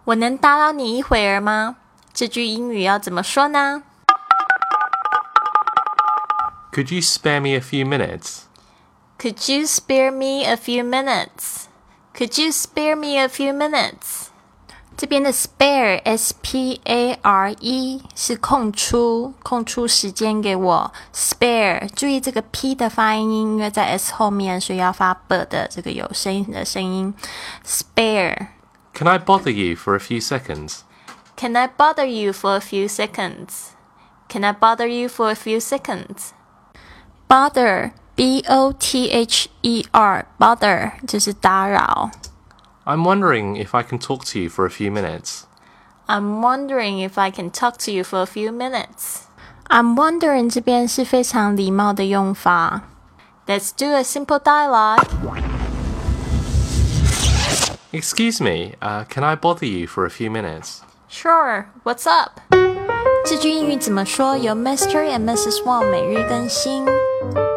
我能打扰你一会儿吗？这句英语要怎么说呢？ Could you spare me a few minutes? Could you spare me a few minutes? Could you spare me a few minutes? 这边的 spare, S-P-A-R-E 是空出时间给我 spare 注意这个 P 的发音，因为在 S 后面，所以要发 B 的这个有声音的声音 spare. Can I bother you for a few seconds? Can I bother you for a few seconds? Can I bother you for a few seconds? Bother, B-O-T-H-E-R, bother 就是打扰。 I'm wondering if I can talk to you for a few minutes. I'm wondering if I can talk to you for a few minutes. I'm wondering 这边是非常礼貌的用法。Let's do a simple dialogue. Excuse me, can I bother you for a few minutes? Sure, what's up? 这句英语怎么说？由 Mr. and Mrs. Wang 每日更新。